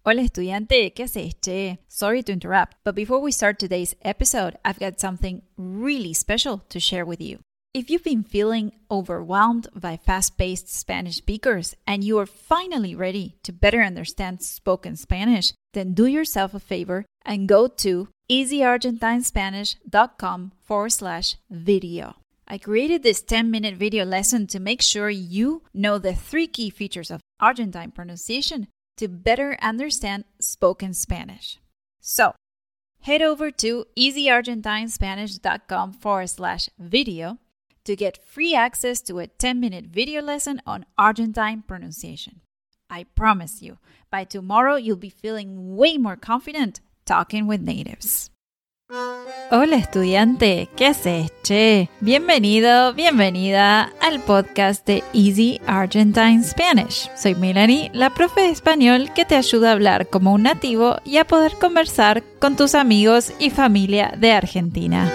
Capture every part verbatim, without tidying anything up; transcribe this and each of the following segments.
Hola estudiante, ¿qué haces, che? Sorry to interrupt, but before we start today's episode, I've got something really special to share with you. If you've been feeling overwhelmed by fast-paced Spanish speakers and you are finally ready to better understand spoken Spanish, then do yourself a favor and go to easyargentinespanish.com forward slash video. I created this ten-minute video lesson to make sure you know the three key features of Argentine pronunciation to better understand spoken Spanish. So, head over to easyargentinespanish.com forward slash video to get free access to a ten-minute video lesson on Argentine pronunciation. I promise you, by tomorrow you'll be feeling way more confident talking with natives. Hola estudiante, ¿qué haces, che? Bienvenido, bienvenida al podcast de Easy Argentine Spanish. Soy Melanie, la profe de español que te ayuda a hablar como un nativo y a poder conversar con tus amigos y familia de Argentina.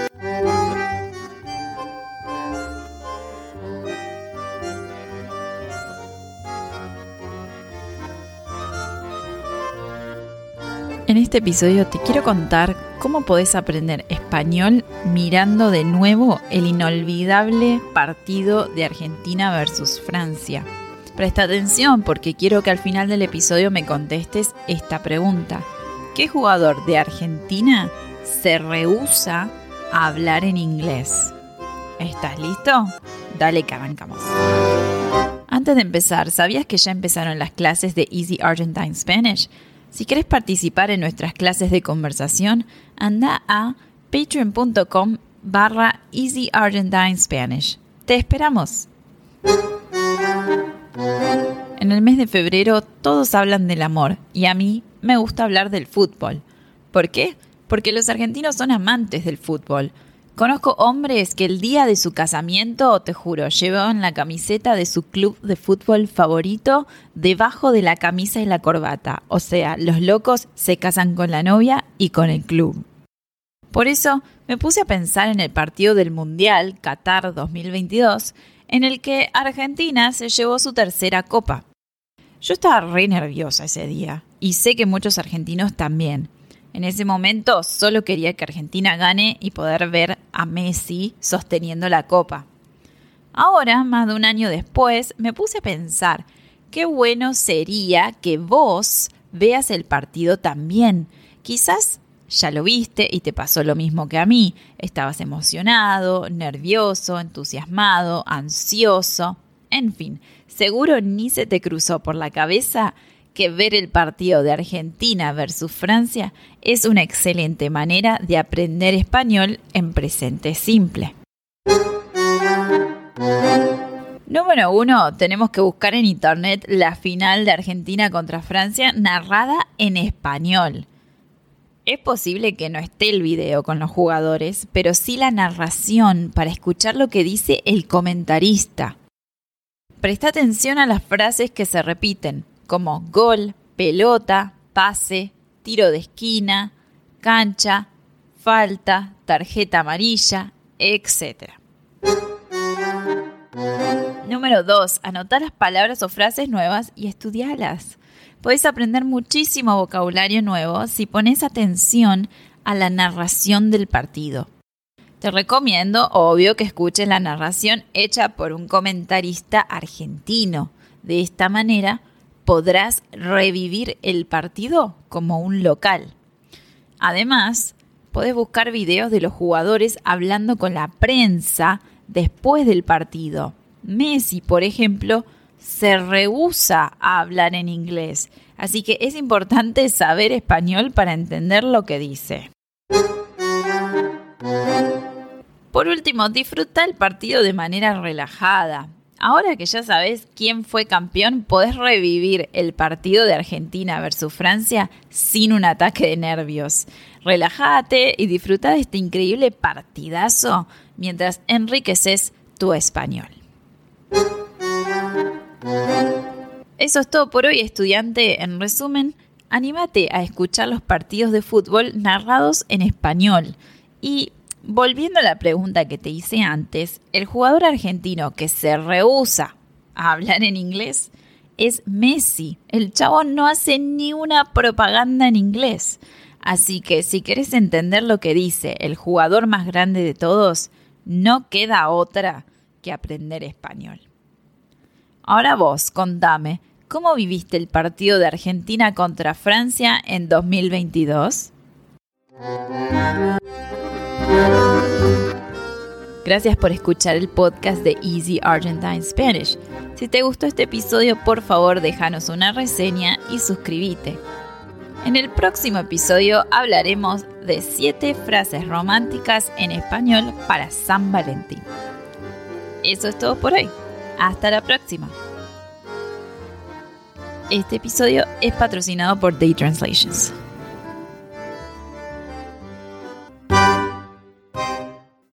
En este episodio te quiero contar cómo podés aprender español mirando de nuevo el inolvidable partido de Argentina versus Francia. Presta atención porque quiero que al final del episodio me contestes esta pregunta. ¿Qué jugador de Argentina se rehúsa a hablar en inglés? ¿Estás listo? Dale que arrancamos. Antes de empezar, ¿sabías que ya empezaron las clases de Easy Argentine Spanish? Si querés participar en nuestras clases de conversación, anda a patreon.com barra Easy Argentine Spanish. ¡Te esperamos! En el mes de febrero todos hablan del amor y a mí me gusta hablar del fútbol. ¿Por qué? Porque los argentinos son amantes del fútbol. Conozco hombres que el día de su casamiento, te juro, llevaban la camiseta de su club de fútbol favorito debajo de la camisa y la corbata. O sea, los locos se casan con la novia y con el club. Por eso me puse a pensar en el partido del Mundial Qatar dos mil veintidós, en el que Argentina se llevó su tercera copa. Yo estaba re nerviosa ese día y sé que muchos argentinos también. En ese momento solo quería que Argentina gane y poder ver a Messi sosteniendo la copa. Ahora, más de un año después, me puse a pensar qué bueno sería que vos veas el partido también. Quizás ya lo viste y te pasó lo mismo que a mí. Estabas emocionado, nervioso, entusiasmado, ansioso. En fin, seguro ni se te cruzó por la cabeza que ver el partido de Argentina versus Francia es una excelente manera de aprender español en presente simple. Número uno, tenemos que buscar en internet la final de Argentina contra Francia narrada en español. Es posible que no esté el video con los jugadores, pero sí la narración para escuchar lo que dice el comentarista. Presta atención a las frases que se repiten, como gol, pelota, pase, tiro de esquina, cancha, falta, tarjeta amarilla, etcétera. Número dos. Anotar las palabras o frases nuevas y estudialas. Podés aprender muchísimo vocabulario nuevo si pones atención a la narración del partido. Te recomiendo, obvio, que escuches la narración hecha por un comentarista argentino. De esta manera podrás revivir el partido como un local. Además, podés buscar videos de los jugadores hablando con la prensa después del partido. Messi, por ejemplo, se rehúsa a hablar en inglés, así que es importante saber español para entender lo que dice. Por último, disfruta el partido de manera relajada. Ahora que ya sabes quién fue campeón, podés revivir el partido de Argentina versus Francia sin un ataque de nervios. Relájate y disfruta de este increíble partidazo mientras enriqueces tu español. Eso es todo por hoy, estudiante. En resumen, anímate a escuchar los partidos de fútbol narrados en español. Y volviendo a la pregunta que te hice antes, el jugador argentino que se rehúsa a hablar en inglés es Messi. El chabón no hace ni una propaganda en inglés. Así que si querés entender lo que dice el jugador más grande de todos, no queda otra que aprender español. Ahora vos, contame, ¿cómo viviste el partido de Argentina contra Francia en dos mil veintidós? Gracias por escuchar el podcast de Easy Argentine Spanish. Si te gustó este episodio, por favor déjanos una reseña y suscríbete. En el próximo episodio hablaremos de siete frases románticas en español para San Valentín. Eso es todo por hoy. Hasta la próxima. Este episodio es patrocinado por Day Translations.